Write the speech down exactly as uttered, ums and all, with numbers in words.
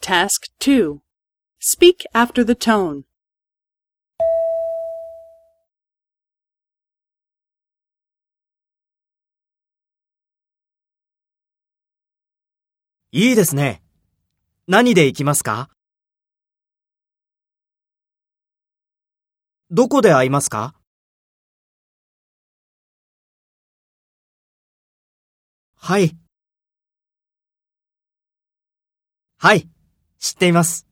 Task two. Speak after the tone. いいですね。何で行きますか？どこで会いますか？はい。はい、知っています。